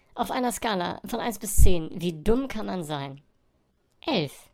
Auf einer Skala von 1 bis 10, wie dumm kann man sein? 11.